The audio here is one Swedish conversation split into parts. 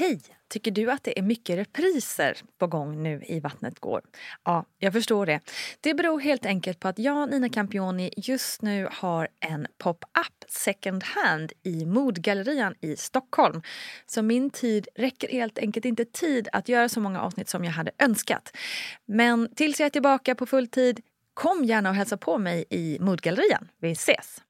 Hej! Tycker du att det är mycket repriser på gång nu i Vattnet går? Ja, jag förstår det. Det beror helt enkelt på att jag, Nina Campioni, just nu har en pop-up second hand i Modgallerian i Stockholm. Så min tid räcker helt enkelt inte tid att göra så många avsnitt som jag hade önskat. Men tills jag är tillbaka på full tid, kom gärna och hälsa på mig i Modgallerian. Vi ses!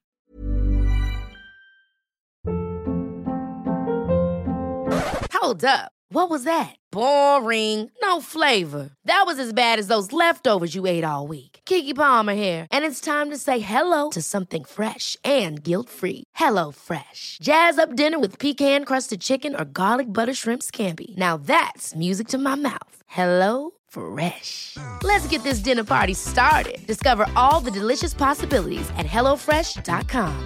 Hold up. What was that? Boring. No flavor. That was as bad as those leftovers you ate all week. Keke Palmer here, and it's time to say hello to something fresh and guilt-free. Hello Fresh. Jazz up dinner with pecan-crusted chicken or garlic butter shrimp scampi. Now that's music to my mouth. Hello Fresh. Let's get this dinner party started. Discover all the delicious possibilities at hellofresh.com.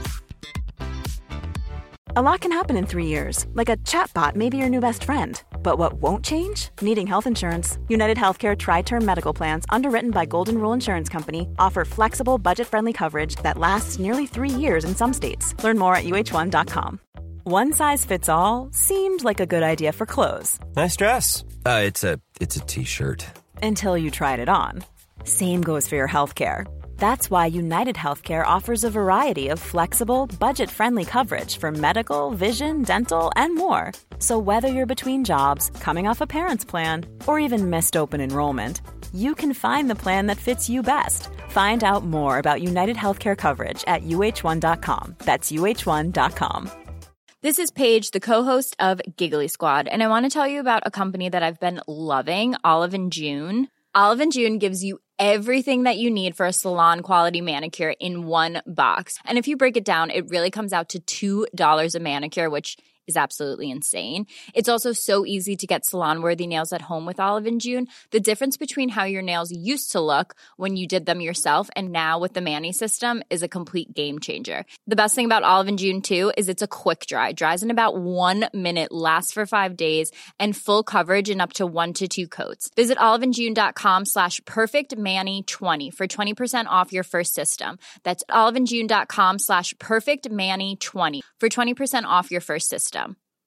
A lot can happen in 3 years, like a chatbot may be your new best friend. But what won't change? Needing health insurance. United Healthcare Tri-Term Medical Plans, underwritten by Golden Rule Insurance Company, offer flexible, budget-friendly coverage that lasts nearly 3 years in some states. Learn more at uh1.com. One size fits all seemed like a good idea for clothes. Nice dress. It's a t-shirt. Until you tried it on. Same goes for your healthcare. That's why United Healthcare offers a variety of flexible, budget-friendly coverage for medical, vision, dental, and more. So whether you're between jobs, coming off a parent's plan, or even missed open enrollment, you can find the plan that fits you best. Find out more about United Healthcare coverage at uh1.com. That's uh1.com. This is Paige, the co-host of Giggly Squad, and I want to tell you about a company that I've been loving, Olive & June. Olive & June gives you everything that you need for a salon-quality manicure in one box. And if you break it down, it really comes out to $2 a manicure, which is absolutely insane. It's also so easy to get salon-worthy nails at home with Olive & June. The difference between how your nails used to look when you did them yourself and now with the Mani system is a complete game changer. The best thing about Olive & June, too, is it's a quick dry. Dries in about 1 minute, lasts for 5 days, and full coverage in up to 1 to 2 coats. Visit oliveandjune.com/perfectmani20 for 20% off your first system. That's oliveandjune.com/perfectmani20 for 20% off your first system.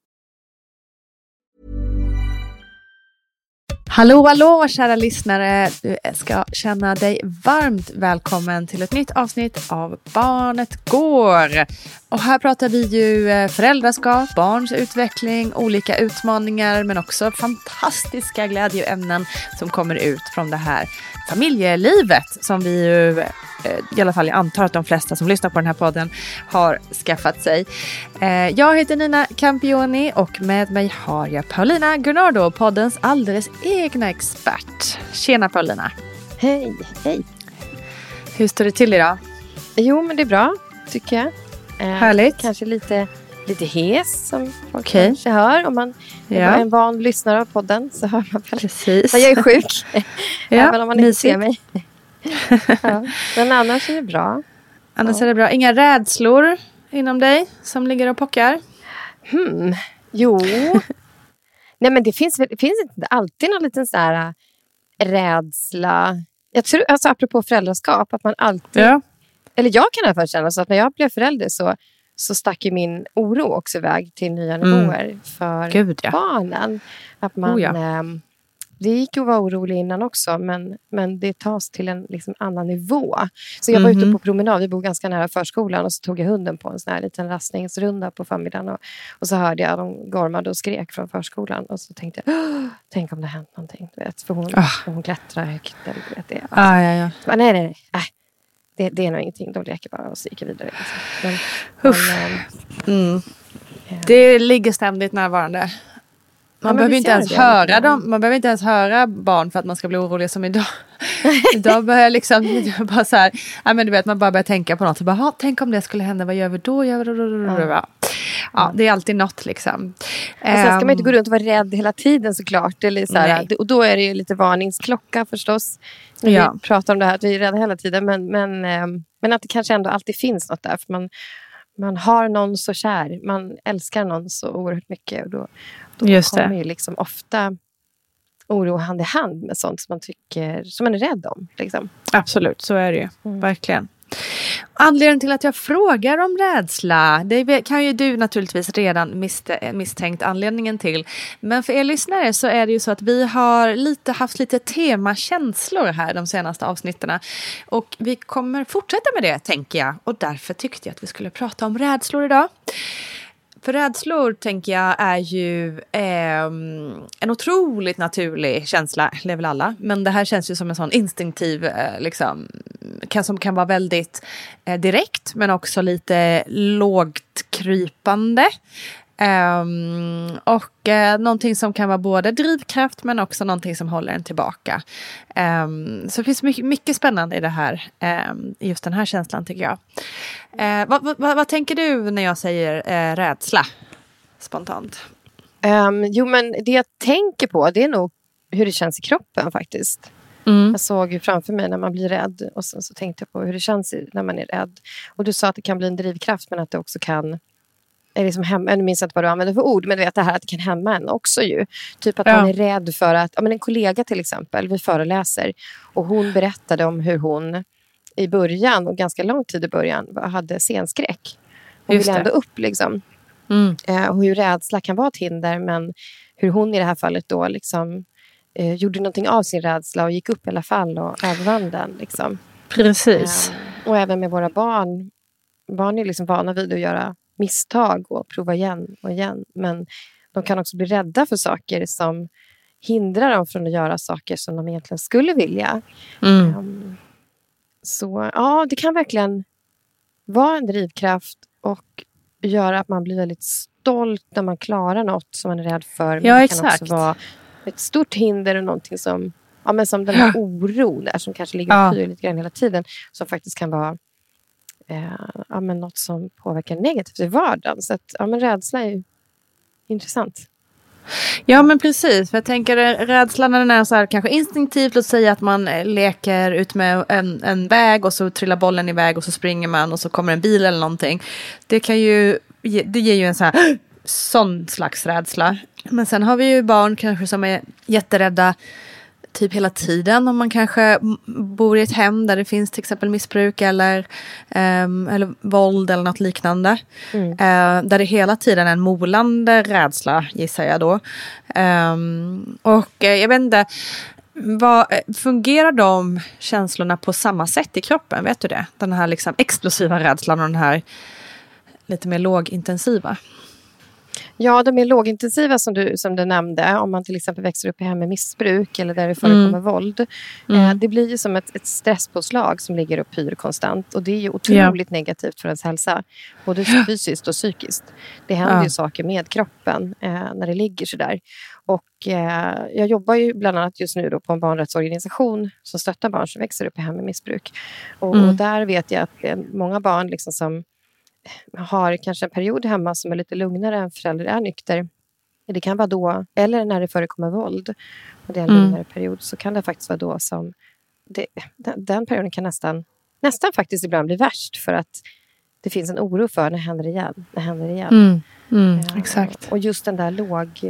Hallå, kära lyssnare. Du ska känna dig varmt välkommen till ett nytt avsnitt av Barnet går. Och här pratar vi ju föräldraskap, barns utveckling, olika utmaningar, men också fantastiska glädjeämnen som kommer ut från det här familjelivet som vi ju, i alla fall jag antar att de flesta som lyssnar på den här podden har skaffat sig. Jag heter Nina Campioni och med mig har jag Paulina Gunnardo, poddens alldeles egna expert. Tjena Paulina. Hej. Hur står det till idag? Jo, men det är bra, tycker jag. Härligt. Kanske lite hes som folk kanske hör. Om man är en van lyssnare av podden så hör man väl. Precis. Jag är sjuk. Även om man inte ser mig. Ja. Men annars är det bra. Annars är det bra. Inga rädslor inom dig som ligger och pockar? Jo. Nej, men det finns inte alltid någon liten så här rädsla. Jag tror, alltså apropå föräldraskap, att man alltid... Ja. Eller jag kan i alla fall känna så att när jag blev förälder så stack ju min oro också iväg till nya nivåer för barnen. Att man... Det gick ju att vara orolig innan också, men det tas till en liksom annan nivå. Så jag var ute på promenad, vi bor ganska nära förskolan, och så tog jag hunden på en sån här liten rastningsrunda på förmiddagen. Och så hörde jag de gormade och skrek från förskolan. Och så tänkte jag, tänk om det hänt någonting. Du vet, för hon klättrar högt. Eller, du vet, det. Ja. Så, nej. Det är nog ingenting, de leker bara och sticker vidare. Det ligger ständigt närvarande. Man behöver inte ens höra dem. Man behöver inte ens höra barn för att man ska bli orolig som idag. Idag börjar liksom bara så här, men du vet, man bara börjar tänka på något. Så bara, tänk om det skulle hända, vad gör vi då? Ja, det är alltid något liksom. Sen ska man inte gå runt och vara rädd hela tiden såklart. Eller så här, och då är det ju lite varningsklocka förstås. När vi pratar om det här, att vi är rädda hela tiden. Men att det kanske ändå alltid finns något där. För man har någon så kär. Man älskar någon så oerhört mycket. Och då kommer ju liksom ofta oro hand i hand med sånt som man tycker, som man är rädd om. Liksom. Absolut, så är det ju. Verkligen. Anledningen till att jag frågar om rädsla, det kan ju du naturligtvis redan misstänkt anledningen till. Men för er lyssnare så är det ju så att vi har haft lite temakänslor här de senaste avsnitterna. Och vi kommer fortsätta med det, tänker jag. Och därför tyckte jag att vi skulle prata om rädslor idag. För rädslor, tänker jag, är ju en otroligt naturlig känsla, det är väl alla. Men det här känns ju som en sån instinktiv, som kan vara väldigt direkt, men också lite lågt krypande. Någonting som kan vara både drivkraft men också någonting som håller en tillbaka. Så det finns mycket spännande i det här, just den här känslan, tycker jag. Vad tänker du när jag säger rädsla spontant? Men det jag tänker på, det är nog hur det känns i kroppen faktiskt. Jag såg ju framför mig när man blir rädd, och så tänkte jag på hur det känns när man är rädd. Och du sa att det kan bli en drivkraft, men att det också kan jag minns inte vad du använder för ord, men du vet det här att det kan hämma en också ju. Typ att man är rädd för att, en kollega till exempel, vi föreläser, och hon berättade om hur hon i början, och ganska lång tid i början, hade scenskräck. Hon ville ändå upp liksom. Och hur rädsla kan vara ett hinder, men hur hon i det här fallet då liksom gjorde någonting av sin rädsla och gick upp i alla fall och övervann den liksom. Precis. Och även med våra barn. Barn är liksom vana vid att göra misstag och prova igen och igen. Men de kan också bli rädda för saker som hindrar dem från att göra saker som de egentligen skulle vilja. Så ja, det kan verkligen vara en drivkraft och göra att man blir väldigt stolt när man klarar något som man är rädd för. Men det kan också vara ett stort hinder och någonting som, som den här oron där som kanske ligger och pyr lite grann hela tiden, som faktiskt kan vara något som påverkar negativt i vardagen. Så att rädsla är ju intressant. Ja, men precis. För jag tänker rädslan när den är så här kanske instinktivt, låt säga att man leker ut med en väg och så trillar bollen iväg och så springer man och så kommer en bil eller någonting. Det ger ju en sån slags rädsla. Men sen har vi ju barn kanske som är jätterädda typ hela tiden, om man kanske bor i ett hem där det finns till exempel missbruk eller våld eller något liknande. Där det hela tiden är en molande rädsla, gissar jag då. Och jag vet inte, fungerar de känslorna på samma sätt i kroppen? Vet du det? Den här liksom explosiva rädslan och den här lite mer lågintensiva. Ja, de är lågintensiva som du nämnde. Om man till exempel växer upp i hem med missbruk eller där det förekommer våld. Det blir ju som ett stresspåslag som ligger och pyr konstant. Och det är ju otroligt negativt för ens hälsa. Både fysiskt och psykiskt. Det händer ju saker med kroppen när det ligger sådär. Och jag jobbar ju bland annat just nu då på en barnrättsorganisation som stöttar barn som växer upp i hem med missbruk. Och där vet jag att det är många barn liksom som har kanske en period hemma som är lite lugnare än förälder är nykter. Det kan vara då, eller när det förekommer våld och det är en lugnare period, så kan det faktiskt vara då som den perioden kan nästan faktiskt ibland bli värst, för att det finns en oro för när händer det igen. Exakt. Och just den där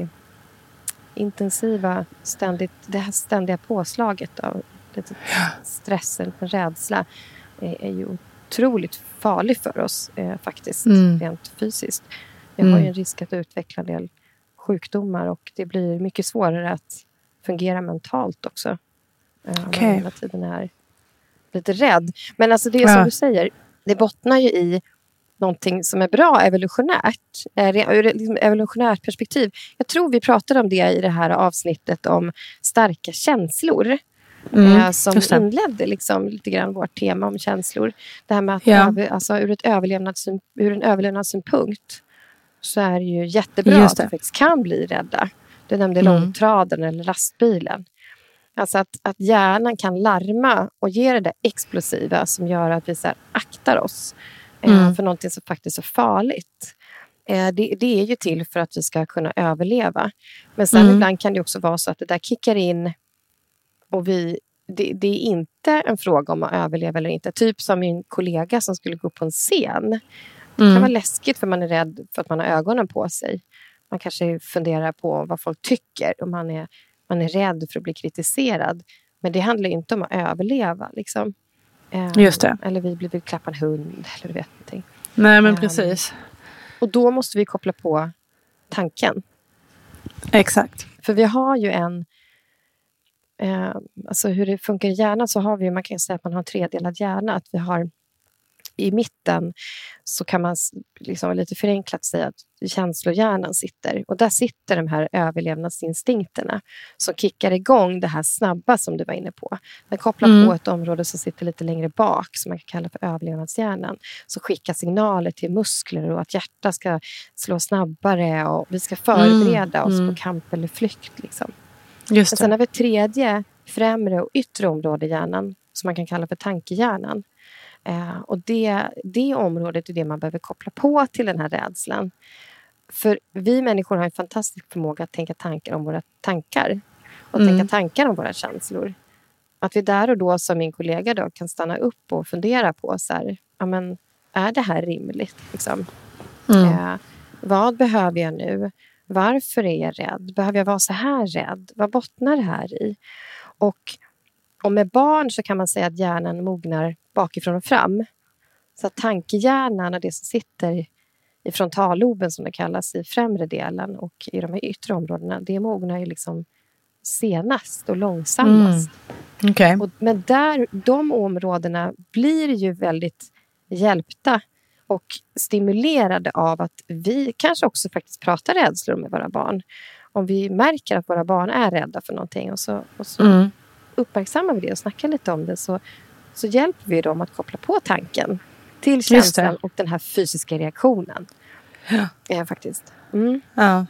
lågintensiva det här ständiga påslaget av stressen, rädsla är ju otroligt farlig för oss faktiskt, rent fysiskt. Vi har ju en risk att utveckla en del sjukdomar, och det blir mycket svårare att fungera mentalt också. Man hela tiden är lite rädd. Men alltså det är som du säger, det bottnar ju i någonting som är bra evolutionärt. Ur ett evolutionärt perspektiv. Jag tror vi pratade om det i det här avsnittet om starka känslor. Som inledde liksom lite grann vårt tema om känslor. Det här med att ur en överlevnadssynpunkt så är det ju jättebra att vi faktiskt kan bli rädda. Du nämnde långtradaren eller lastbilen. Alltså att hjärnan kan larma och ge det där explosiva som gör att vi så här aktar oss för någonting som faktiskt är farligt. Det är ju till för att vi ska kunna överleva. Men sen ibland kan det också vara så att det där kickar in. Och det är inte en fråga om att överleva eller inte. Typ som min kollega som skulle gå på en scen. Det kan vara läskigt för man är rädd för att man har ögonen på sig. Man kanske funderar på vad folk tycker. Och man är rädd för att bli kritiserad. Men det handlar inte om att överleva. Liksom. Just det. Eller vi vill klappa en hund. Eller du vet någonting. Nej, men precis. Och då måste vi koppla på tanken. Exakt. För vi har ju alltså hur det funkar i hjärnan, så har vi, man kan säga att man har en tredelad hjärna. Att vi har i mitten, så kan man liksom lite förenklat säga att känslohjärnan sitter. Och där sitter de här överlevnadsinstinkterna som kickar igång det här snabba som du var inne på. Den kopplar på ett område som sitter lite längre bak, som man kan kalla för överlevnadshjärnan. Så skickar signaler till muskler och att hjärtat ska slå snabbare och vi ska förbereda oss på kamp eller flykt. Liksom. Just det. Men sen har vi tredje, främre och yttre område i hjärnan som man kan kalla för tankehjärnan. Och det området är det man behöver koppla på till den här rädslan. För vi människor har en fantastisk förmåga att tänka tankar om våra tankar. Och tänka tankar om våra känslor. Att vi där och då, som min kollega då, kan stanna upp och fundera på så här, ja, men, är det här rimligt? Liksom? Vad behöver jag nu? Varför är jag rädd? Behöver jag vara så här rädd? Vad bottnar det här i? Och med barn så kan man säga att hjärnan mognar bakifrån och fram. Så att tankehjärnan och det som sitter i frontalloben, som det kallas, i främre delen och i de här yttre områdena, det mognar ju liksom senast och långsammast. Okay. Men de områdena blir ju väldigt hjälpta och stimulerade av att vi kanske också faktiskt pratar rädslor med våra barn. Om vi märker att våra barn är rädda för någonting och så uppmärksammar vi det och snackar lite om det, så hjälper vi dem att koppla på tanken till känslan och den här fysiska reaktionen. Ja, faktiskt. Ja.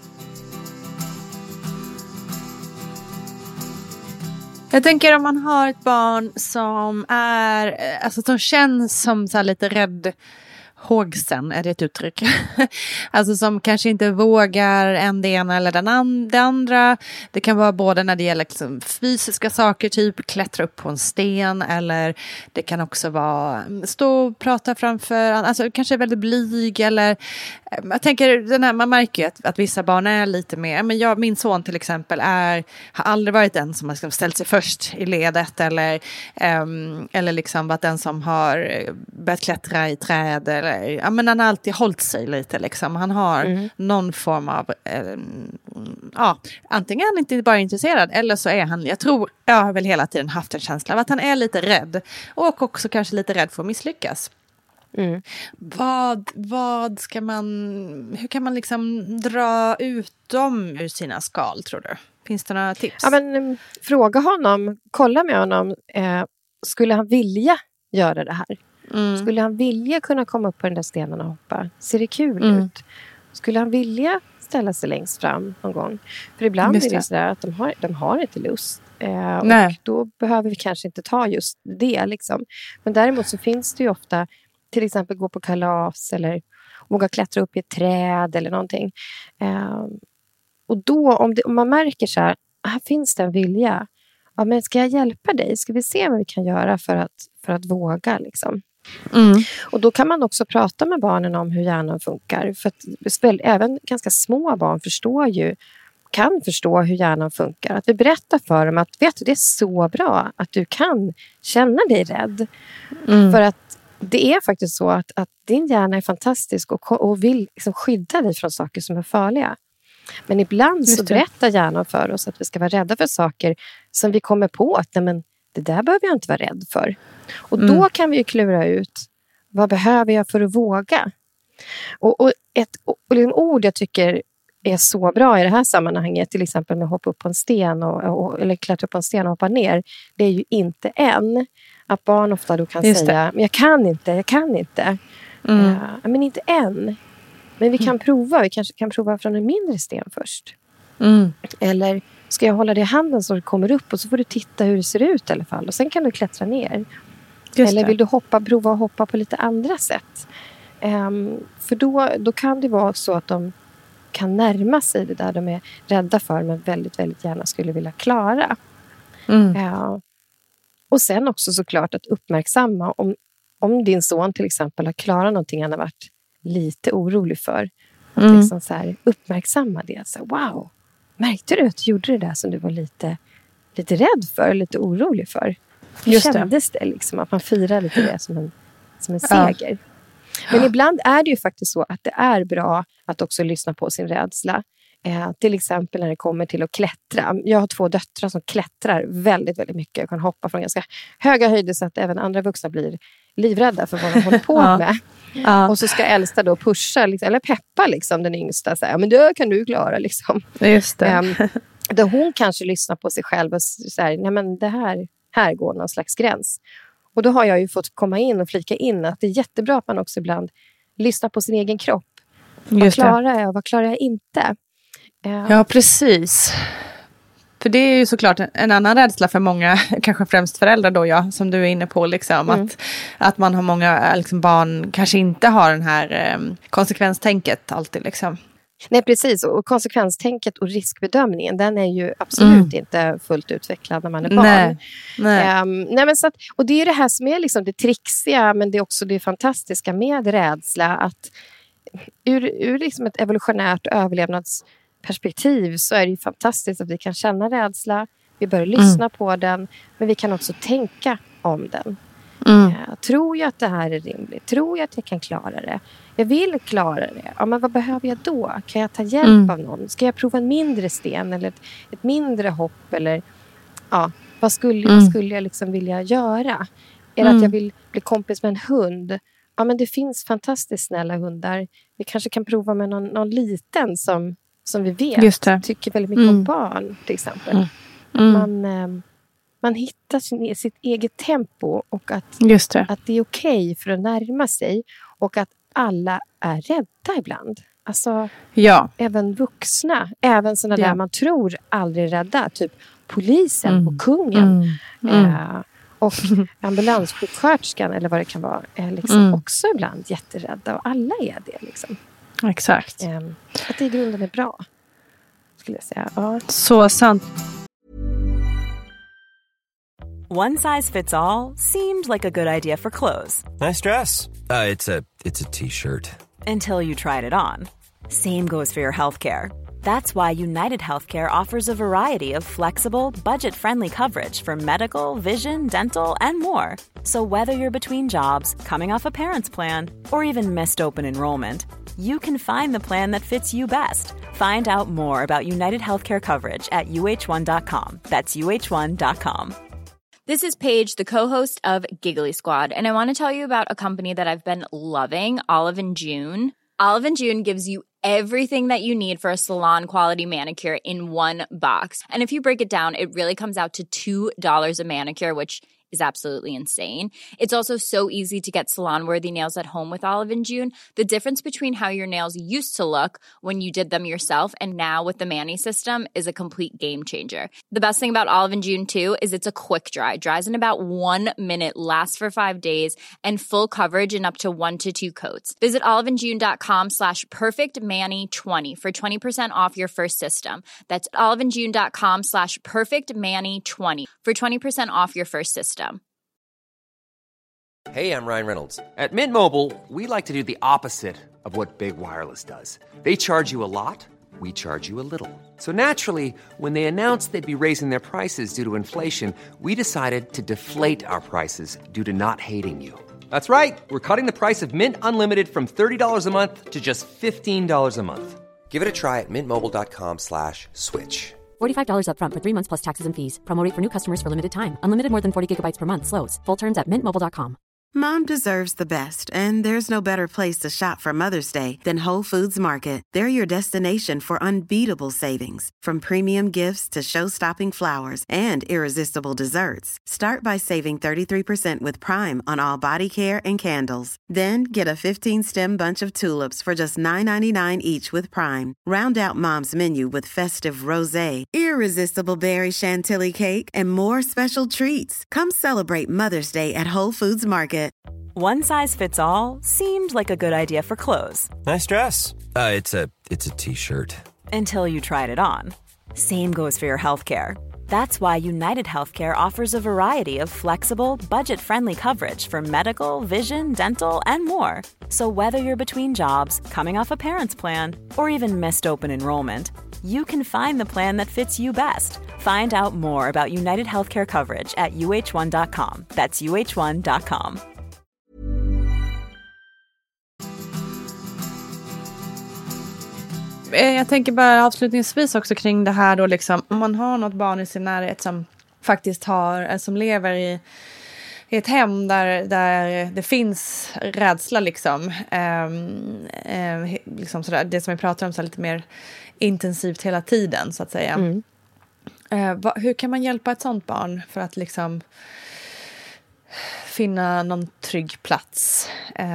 Jag tänker om man har ett barn som är, alltså som känns som så här lite rädd, hågsen, är det ett uttryck? Alltså som kanske inte vågar än det ena eller det andra. Det kan vara både när det gäller liksom fysiska saker, typ klättra upp på en sten, eller det kan också vara stå och prata framför, alltså kanske väldigt blyg, eller jag tänker, man märker ju att vissa barn är lite mer, men min son till exempel har aldrig varit den som har ställt sig först i ledet, eller liksom varit den som har börjat klättra i träd, eller ja, men han har alltid hållit sig lite liksom. Han har någon form av antingen är han inte bara intresserad, eller så är han, jag har väl hela tiden haft en känsla av att han är lite rädd, och också kanske lite rädd för att misslyckas. Hur kan man liksom dra ut dem ur sina skal, tror du? Finns det några tips? Ja, men fråga honom, kolla med honom, skulle han vilja göra det här? Skulle han vilja kunna komma upp på den där stenen och hoppa? Ser det kul ut? Skulle han vilja ställa sig längst fram någon gång? För ibland är det sådär att de har inte lust. Och då behöver vi kanske inte ta just det. Liksom. Men däremot så finns det ju ofta, till exempel gå på kalas eller våga klättra upp i ett träd eller någonting. Och då, om man märker så här finns det en vilja. Ja, men ska jag hjälpa dig? Ska vi se vad vi kan göra för att våga liksom? Och då kan man också prata med barnen om hur hjärnan funkar. För att även ganska små barn kan förstå hur hjärnan funkar. Att vi berättar för dem att vet du, det är så bra att du kan känna dig rädd. För att det är faktiskt så att din hjärna är fantastisk och vill liksom skydda dig från saker som är farliga. Men ibland så berättar hjärnan för oss att vi ska vara rädda för saker som vi kommer på att det där behöver jag inte vara rädd för. Och då kan vi ju klura ut, vad behöver jag för att våga? Och ett ord jag tycker är så bra i det här sammanhanget, till exempel med att hoppa upp på en sten eller klättra upp på en sten och hoppa ner, det är ju inte än. Att barn ofta då kan säga, men jag kan inte. Men inte än. Men vi kan prova, vi kanske kan prova från en mindre sten först. Eller ska jag hålla det i handen så det kommer upp och så får du titta hur det ser ut i alla fall. Och sen kan du klättra ner. Eller vill du prova att hoppa på lite andra sätt. För då kan det vara så att de kan närma sig det där de är rädda för, men väldigt, väldigt gärna skulle vilja klara. Och sen också såklart att uppmärksamma om din son till exempel har klarat någonting han har varit lite orolig för. Att liksom så här, uppmärksamma det. Så, wow, märkte du att du gjorde det där som du var lite rädd för, lite orolig för? Hur kändes det liksom, att man firar lite det som en seger? Men ibland är det ju faktiskt så att det är bra att också lyssna på sin rädsla. Till exempel när det kommer till att klättra. Jag har 2 döttrar som klättrar väldigt, väldigt mycket. Jag kan hoppa från ganska höga höjder så att även andra vuxna blir livrädda för vad de håller på med. Och så ska äldsta då pusha liksom, eller peppa liksom, den yngsta. Så här, men det kan du klara liksom. Just det. Där hon kanske lyssnar på sig själv och säger, nej men det här går någon slags gräns. Och då har jag ju fått komma in och flika in att det är jättebra att man också ibland lyssnar på sin egen kropp. Vad klarar jag och vad klarar jag inte? Ja, precis. För det är ju såklart en annan rädsla för många, kanske främst föräldrar då, som du är inne på. Liksom, att man har många liksom, barn kanske inte har den här konsekvenstänket alltid. Liksom. Nej, precis. Och konsekvenstänket och riskbedömningen, den är ju absolut inte fullt utvecklad när man är barn. Nej, men så att, och det är det här som är liksom det trixiga, men det är också det fantastiska med rädsla. Att ur liksom ett evolutionärt överlevnadsperspektiv så är det ju fantastiskt att vi kan känna rädsla. Vi börjar lyssna på den, men vi kan också tänka om den. Tror jag att det här är rimligt? Tror jag att jag kan klara det? Jag vill klara det. Ja, men vad behöver jag då? Kan jag ta hjälp av någon? Ska jag prova en mindre sten eller ett mindre hopp? Eller vad skulle jag liksom vilja göra? Är det att jag vill bli kompis med en hund? Ja, men det finns fantastiskt snälla hundar. Vi kanske kan prova med någon liten som vi vet tycker väldigt mycket om barn, till exempel. Man hittar sitt eget tempo och att det är okej för att närma sig och att alla är rädda ibland. Alltså, även vuxna, även sådana där man tror aldrig är rädda, typ polisen och kungen och ambulanssjuksköterskan eller vad det kan vara, är liksom också ibland jätterädda, och alla är det liksom. Exakt. Att det i grunden är bra, skulle jag säga. Ja. Så sant. One size fits all seemed like a good idea for clothes. Nice dress. It's a t-shirt. Until you tried it on. Same goes for your healthcare. That's why United Healthcare offers a variety of flexible, budget-friendly coverage for medical, vision, dental, and more. So whether you're between jobs, coming off a parent's plan, or even missed open enrollment, you can find the plan that fits you best. Find out more about United Healthcare coverage at uh1.com. That's uh1.com. This is Paige, the co-host of Giggly Squad, and I want to tell you about a company that I've been loving, Olive & June. Olive & June gives you everything that you need for a salon-quality manicure in one box. And if you break it down, it really comes out to $2 a manicure, which is absolutely insane. It's also so easy to get salon-worthy nails at home with Olive & June. The difference between how your nails used to look when you did them yourself and now with the Mani system is a complete game changer. The best thing about Olive & June, too, is it's a quick dry. Dries in about 1 minute, lasts for 5 days, and full coverage in up to 1 to 2 coats. Visit oliveandjune.com/perfectmani20 for 20% off your first system. That's oliveandjune.com/perfectmani20 for 20% off your first system. Hey, I'm Ryan Reynolds. At Mint Mobile, we like to do the opposite of what Big Wireless does. They charge you a lot, we charge you a little. So naturally, when they announced they'd be raising their prices due to inflation, we decided to deflate our prices due to not hating you. That's right. We're cutting the price of Mint Unlimited from $30 a month to just $15 a month. Give it a try at mintmobile.com/switch. $45 up front for 3 months plus taxes and fees. Promo rate for new customers for limited time. Unlimited more than 40 gigabytes per month slows. Full terms at mintmobile.com. Mom deserves the best, and there's no better place to shop for Mother's Day than Whole Foods Market. They're your destination for unbeatable savings, from premium gifts to show-stopping flowers and irresistible desserts. Start by saving 33% with Prime on all body care and candles. Then get a 15-stem bunch of tulips for just $9.99 each with Prime. Round out Mom's menu with festive rosé, irresistible berry chantilly cake, and more special treats. Come celebrate Mother's Day at Whole Foods Market. One size fits all seemed like a good idea for clothes. Nice dress. It's a t-shirt. Until you tried it on. Same goes for your healthcare. That's why United Healthcare offers a variety of flexible, budget-friendly coverage for medical, vision, dental, and more. So whether you're between jobs, coming off a parent's plan, or even missed open enrollment, you can find the plan that fits you best. Find out more about United Healthcare coverage at uh1.com. That's uh1.com. Jag tänker bara avslutningsvis också kring det här då liksom, om man har något barn i sin närhet som faktiskt som lever i ett hem där det finns rädsla liksom, liksom sådär, det som vi pratar om så lite mer intensivt hela tiden så att säga. Hur kan man hjälpa ett sånt barn för att liksom finna någon trygg plats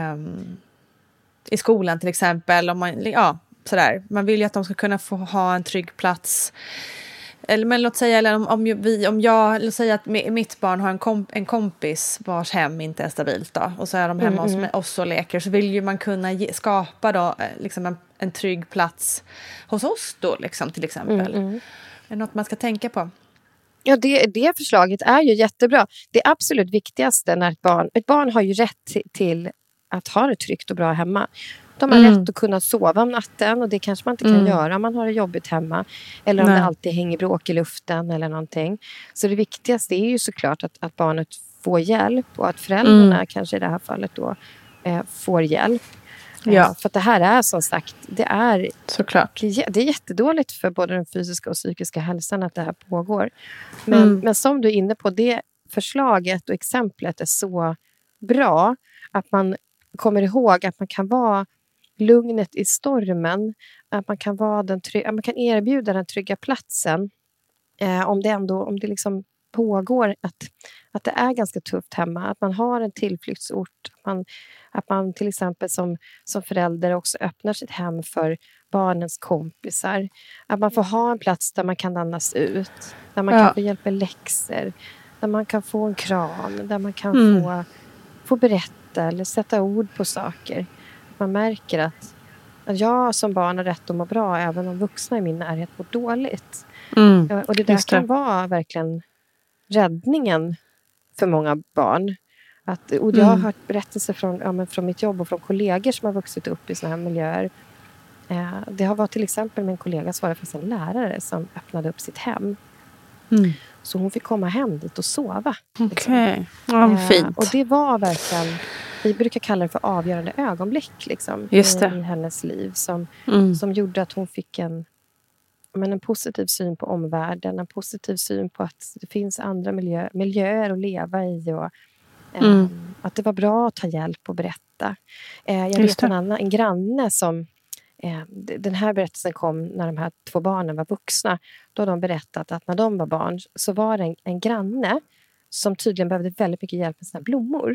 i skolan till exempel, om man sådär. Man vill ju att de ska kunna få ha en trygg plats. Men låt säga, eller låt säga att mitt barn har en kompis vars hem inte är stabilt då, och så är de hemma hos oss och leker, så vill ju man kunna skapa då liksom en trygg plats hos oss då liksom, till exempel. Är det något man ska tänka på? Ja, det förslaget är ju jättebra. Det absolut viktigaste när ett barn har ju rätt till att ha det tryggt och bra hemma. De har rätt att kunna sova om natten, och det kanske man inte kan göra om man har det jobbigt hemma. Eller om det alltid hänger bråk i luften eller någonting. Så det viktigaste är ju såklart att barnet får hjälp, och att föräldrarna kanske i det här fallet då får hjälp. Ja. För att det här är som sagt, det är såklart. Det är jättedåligt för både den fysiska och psykiska hälsan att det här pågår. Men som du är inne på, det förslaget och exemplet är så bra att man kommer ihåg att man kan vara lugnet i stormen, att man kan vara man kan erbjuda den trygga platsen om det liksom pågår att det är ganska tufft hemma, att man har en tillflyktsort, att man till exempel som förälder också öppnar sitt hem för barnens kompisar, att man får ha en plats där man kan andas ut, där man kan få hjälp med läxor, där man kan få en kram, där man kan få berätta eller sätta ord på saker. Man märker att jag som barn har rätt att må bra även om vuxna i min närhet mår dåligt. Och det där kan vara verkligen räddningen för många barn. Och jag har hört berättelser från mitt jobb och från kollegor som har vuxit upp i såna här miljöer. Det har varit till exempel med en kollega som var faktiskt en lärare som öppnade upp sitt hem. Så hon fick komma hem dit och sova. Okej, fint. Och det var verkligen, vi brukar kalla det för avgörande ögonblick liksom, i hennes liv. Som gjorde att hon fick en positiv syn på omvärlden. En positiv syn på att det finns andra miljöer att leva i. Och att det var bra att ta hjälp och berätta. Jag vet en granne som... den här berättelsen kom när de här 2 barnen var vuxna. Då har de berättat att när de var barn så var det en granne som tydligen behövde väldigt mycket hjälp med sina blommor.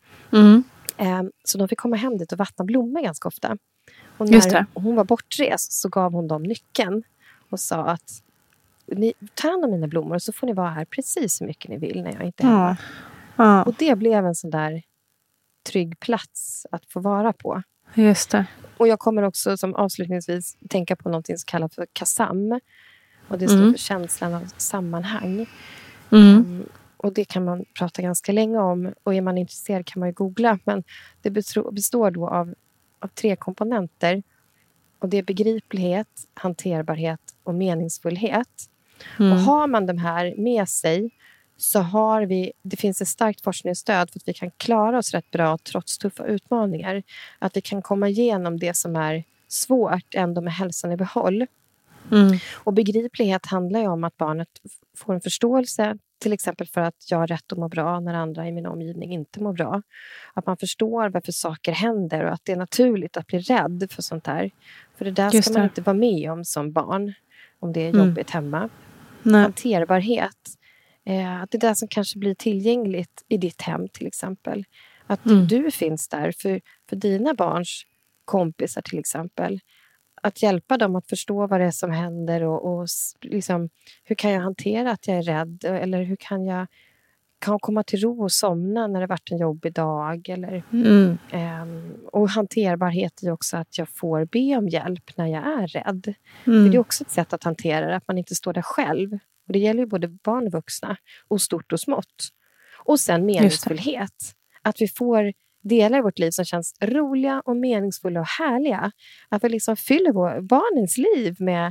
Så de fick komma hem dit och vattna blommor ganska ofta. Och när hon var bortrest så gav hon dem nyckeln och sa att ta hand om mina blommor så får ni vara här precis så mycket ni vill när jag inte är hemma. Och det blev en sån där trygg plats att få vara på. Just det. Och jag kommer också som avslutningsvis tänka på någonting som kallas för KASAM. Och det står för känslan av sammanhang. Och det kan man prata ganska länge om. Och är man intresserad kan man ju googla. Men det består då av 3 komponenter. Och det är begriplighet, hanterbarhet och meningsfullhet. Och har man de här med sig så det finns ett starkt forskningsstöd för att vi kan klara oss rätt bra trots tuffa utmaningar. Att vi kan komma igenom det som är svårt ändå med hälsan i behåll. Och begriplighet handlar ju om att barnet får en förståelse, till exempel för att jag har rätt att må bra när andra i min omgivning inte mår bra. Att man förstår varför saker händer och att det är naturligt att bli rädd för sånt här. För det där ska man inte vara med om som barn, om det är jobbigt hemma. Hanterbarhet. Att det är det som kanske blir tillgängligt i ditt hem till exempel. Att du finns där för dina barns kompisar till exempel. Att hjälpa dem att förstå vad det är som händer och liksom, hur kan jag hantera att jag är rädd? Eller hur kan jag komma till ro och somna när det varit en jobbig dag? Eller, och hanterbarhet är också att jag får be om hjälp när jag är rädd. För det är också ett sätt att hantera det, att man inte står där själv. Och det gäller ju både barn och vuxna, och stort och smått. Och sen meningsfullhet. Att vi får delar i vårt liv som känns roliga och meningsfulla och härliga. Att vi liksom fyller barnens liv med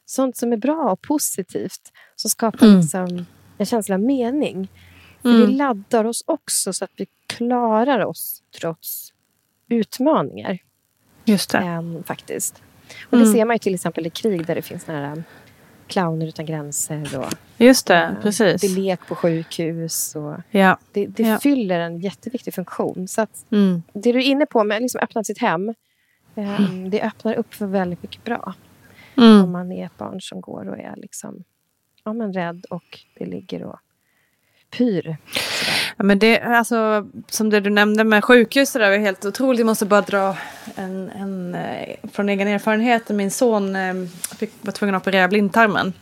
sånt som är bra och positivt. Som skapar liksom en känsla av mening. För det laddar oss också så att vi klarar oss trots utmaningar. Just det. Faktiskt. Och det ser man ju till exempel i krig där det finns nära clowner utan gränser. Och, just det, precis. Det är lek på sjukhus. Och det fyller en jätteviktig funktion. Så att det du är inne på med liksom öppna sitt hem. Det öppnar upp för väldigt mycket bra. Om man är ett barn som går och är liksom, rädd och det ligger och pyr. Ja, men det, alltså, som det du nämnde med sjukhus, det där var helt otroligt. Jag måste bara dra en från egen erfarenhet. Min son var tvungen att operera blindtarmen.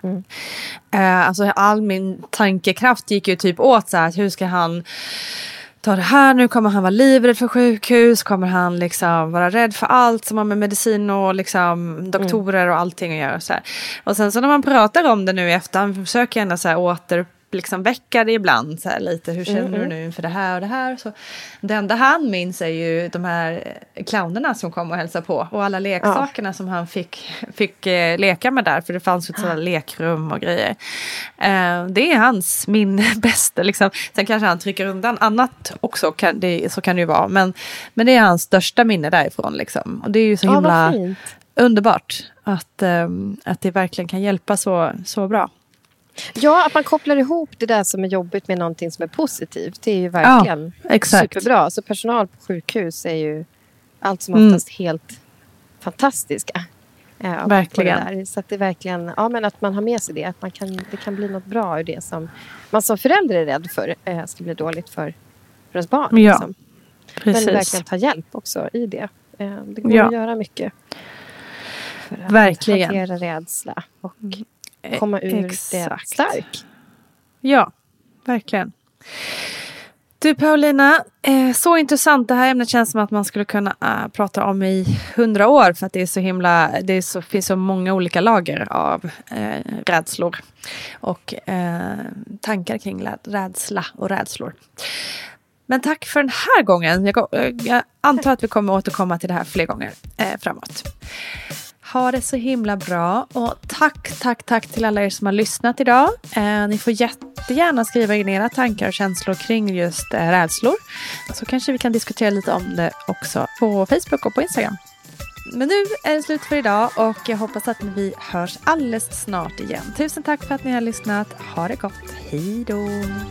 Alltså all min tankekraft gick ju typ åt så här, att hur ska han ta det här nu? Kommer han vara livrädd för sjukhus? Kommer han liksom vara rädd för allt som har med medicin och liksom doktorer och allting att göra? Så här. Och sen så när man pratar om det nu i efterhand försöker jag ändå så här liksom väcka det ibland så här lite. Hur känner du nu inför det här och det här? Så det enda han minns är ju de här clownerna som kom och hälsade på. Och alla leksakerna som han fick leka med där. För det fanns ju ett sådant lekrum och grejer. Det är hans bästa liksom. Sen kanske han trycker undan annat också. Så kan det ju vara. Men det är hans största minne därifrån liksom. Och det är ju så himla underbart. Att det verkligen kan hjälpa så bra. Ja, att man kopplar ihop det där som är jobbigt med någonting som är positivt. Det är ju verkligen superbra. Så personal på sjukhus är ju allt som oftast helt fantastiska. Verkligen. Så att det är verkligen, men att man har med sig det. Att det kan bli något bra ur det som man som förälder är rädd för ska bli dåligt för ens barn. Ja, liksom. precis. Men verkligen ta hjälp också i det. Det går att göra mycket. För att hantera rädsla och komma ur det stark. Ja, verkligen. Du Paulina, så intressant. Det här ämnet känns som att man skulle kunna prata om i 100 år. För att det är så himla, finns så många olika lager av rädslor. Och tankar kring rädsla och rädslor. Men tack för den här gången. Jag antar att vi kommer återkomma till det här fler gånger framåt. Ha det så himla bra och tack till alla er som har lyssnat idag. Ni får jättegärna skriva in era tankar och känslor kring just rädslor. Så kanske vi kan diskutera lite om det också på Facebook och på Instagram. Men nu är det slut för idag och jag hoppas att vi hörs alldeles snart igen. Tusen tack för att ni har lyssnat. Ha det gott. Hej då!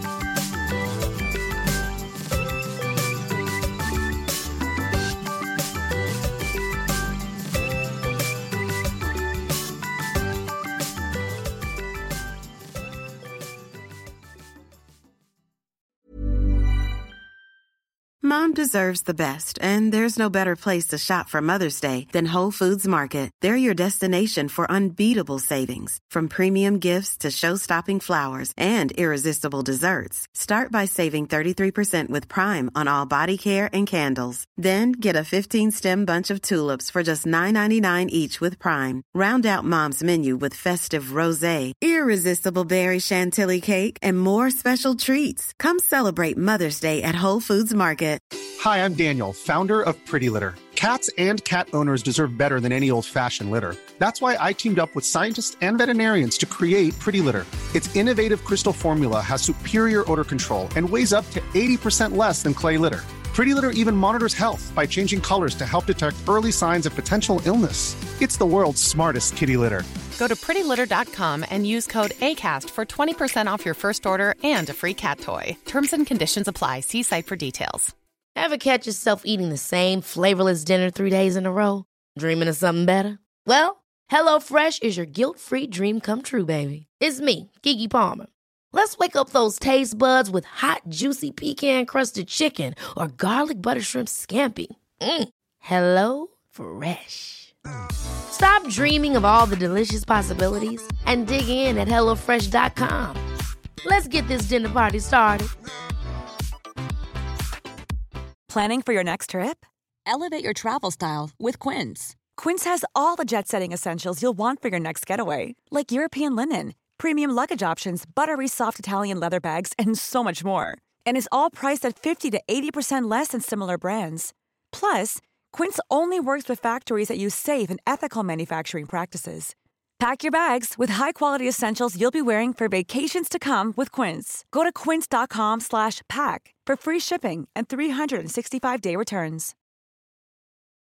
Mom deserves the best, and there's no better place to shop for Mother's Day than Whole Foods Market. They're your destination for unbeatable savings, from premium gifts to show-stopping flowers and irresistible desserts. Start by saving 33% with Prime on all body care and candles. Then get a 15-stem bunch of tulips for just $9.99 each with Prime. Round out Mom's menu with festive rosé, irresistible berry chantilly cake, and more special treats. Come celebrate Mother's Day at Whole Foods Market. Hi, I'm Daniel, founder of Pretty Litter. Cats and cat owners deserve better than any old-fashioned litter. That's why I teamed up with scientists and veterinarians to create Pretty Litter. Its innovative crystal formula has superior odor control and weighs up to 80% less than clay litter. Pretty Litter even monitors health by changing colors to help detect early signs of potential illness. It's the world's smartest kitty litter. Go to prettylitter.com and use code ACAST for 20% off your first order and a free cat toy. Terms and conditions apply. See site for details. Ever catch yourself eating the same flavorless dinner 3 days in a row? Dreaming of something better? Well, HelloFresh is your guilt-free dream come true, baby. It's me, Keke Palmer. Let's wake up those taste buds with hot, juicy pecan-crusted chicken or garlic butter shrimp scampi. Hello Fresh. Stop dreaming of all the delicious possibilities and dig in at HelloFresh.com. Let's get this dinner party started. Planning for your next trip? Elevate your travel style with Quince. Quince has all the jet-setting essentials you'll want for your next getaway, like European linen, premium luggage options, buttery soft Italian leather bags, and so much more. And is all priced at 50 to 80% less than similar brands. Plus, Quince only works with factories that use safe and ethical manufacturing practices. Pack your bags with high-quality essentials you'll be wearing for vacations to come with Quince. Go to quince.com/pack for free shipping and 365-day returns.